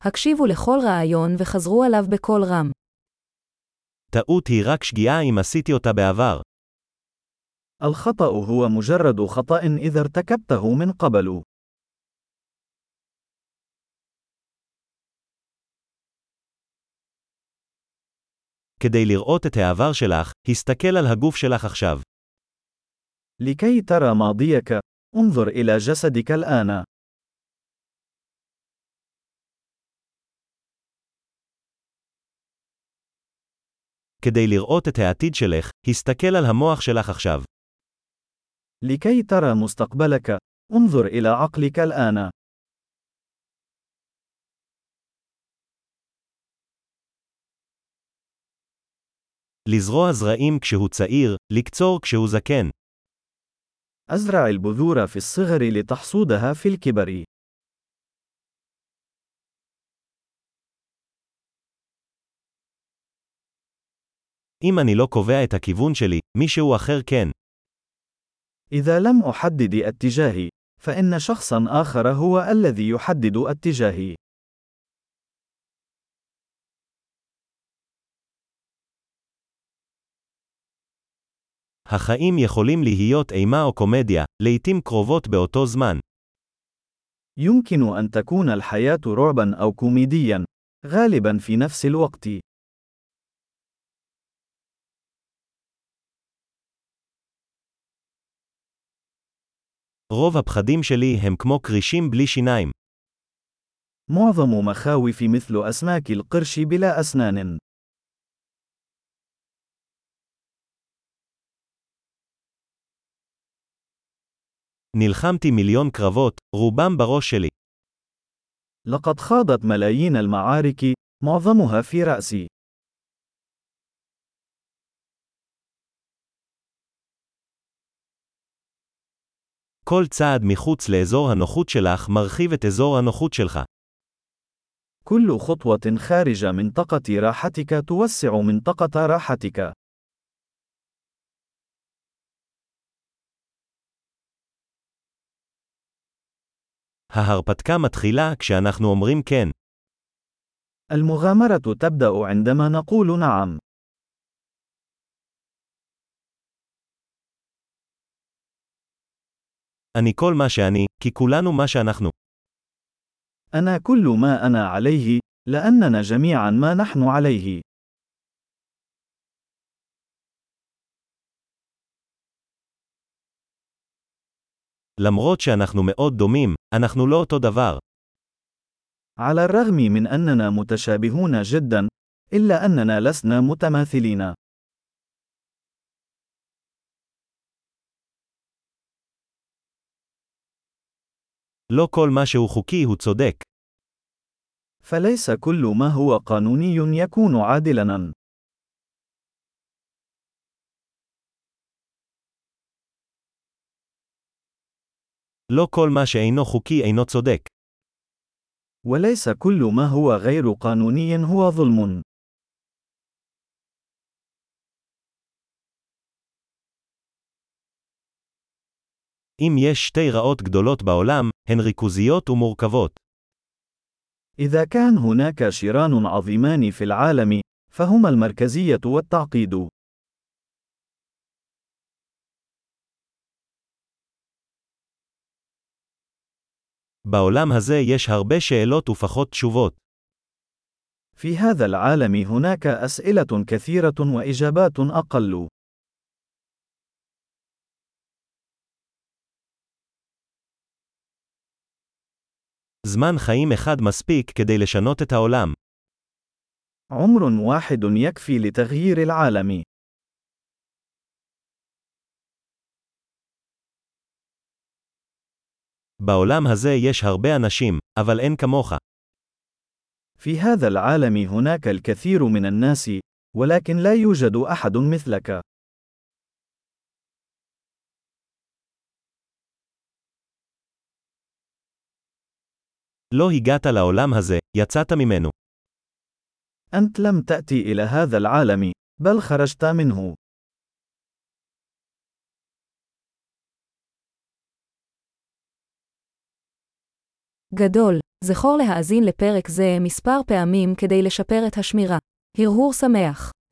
הקשיבו לכל רעיון וחזרו עליו בקול רם. טעות היא רק שגיאה אם עשיתי אותה בעבר. الخطأ هو مجرد خطأ إذا ارتكبته من قبل. כדי לראות את העבר שלך, הסתכל על הגוף שלך עכשיו. لكي ترى ماضيك، انظر إلى جسدك الآن. כדי לראות את העתיד שלך, הסתכל על המוח שלך עכשיו. لكي ترى مستقبلك، انظر إلى عقلك الآن. לזרוע זרעים כשהוא צעיר, לקצור כשהוא זקן. أزرع البذور في الصغر لتحصودها في الكبر. אם אני לא קובע את הכיוון שלי, מישהו אחר כן. إذا لم أحدد اتجاهي، فإن شخصا آخر هو الذي يحدد اتجاهي. החיים יכולים להיות אימה או קומדיה, לעתים קרובות באותו זמן. يمكن أن تكون الحياة رعبا أو كوميديا، غالبا في نفس الوقت. רוב הפחדים שלי הם כמו קרישים בלי שיניים. معظم مخاوفي مثل أسماك القرش بلا أسنان. נלחמתי מיליון קרבות, רובם בראש שלי. لقد خاضت ملايين المعارك، معظمها في رأسي. כל צעד מחוץ לאזור הנוחות שלך מרחיב את אזור הנוחות שלך. كل خطوة خارج منطقة راحتك توسع منطقة راحتك. ההרפתקה מתחילה כשאנחנו אומרים כן. المغامرة تبدأ عندما نقول نعم. אני כל מה שאני, כי כולנו מה שאנחנו. أنا كل ما أنا عليه، لأننا جميعا ما نحن عليه. למרות שאנחנו מאוד דומים, אנחנו לא אותו דבר. على الرغم من أننا متشابهون جدا، إلا أننا لسنا متماثلين. לא כל מה שהוא חוקי הוא צודק. فليس كل ما هو قانوني يكون عادلاً. לא כל מה שאינו חוקי אינו צודק. وليس كل ما هو غير قانوني هو ظلم. אם יש שתי רעות גדולות בעולם, הן ריכוזיות ומורכבות. إذا كان هناك شران عظيمان في العالم، فهما المركزية والتعقيد. בעולם הזה יש הרבה שאלות ופחות תשובות. في هذا العالم هناك أسئلة كثيرة وإجابات أقل. זמן חיים אחד מספיק כדי לשנות את העולם. عمر واحد يكفي لتغيير العالم. בעולם הזה יש הרבה אנשים, אבל אין כמוך. في هذا العالم هناك الكثير من الناس، ولكن لا يوجد أحد مثلك. לא הגעת לעולם הזה, יצאת ממנו. أنت لم تأتي إلى هذا العالم، بل خرجت منه. גדול. זכור להאזין לפרק זה מספר פעמים כדי לשפר את השמירה. הרהור שמח.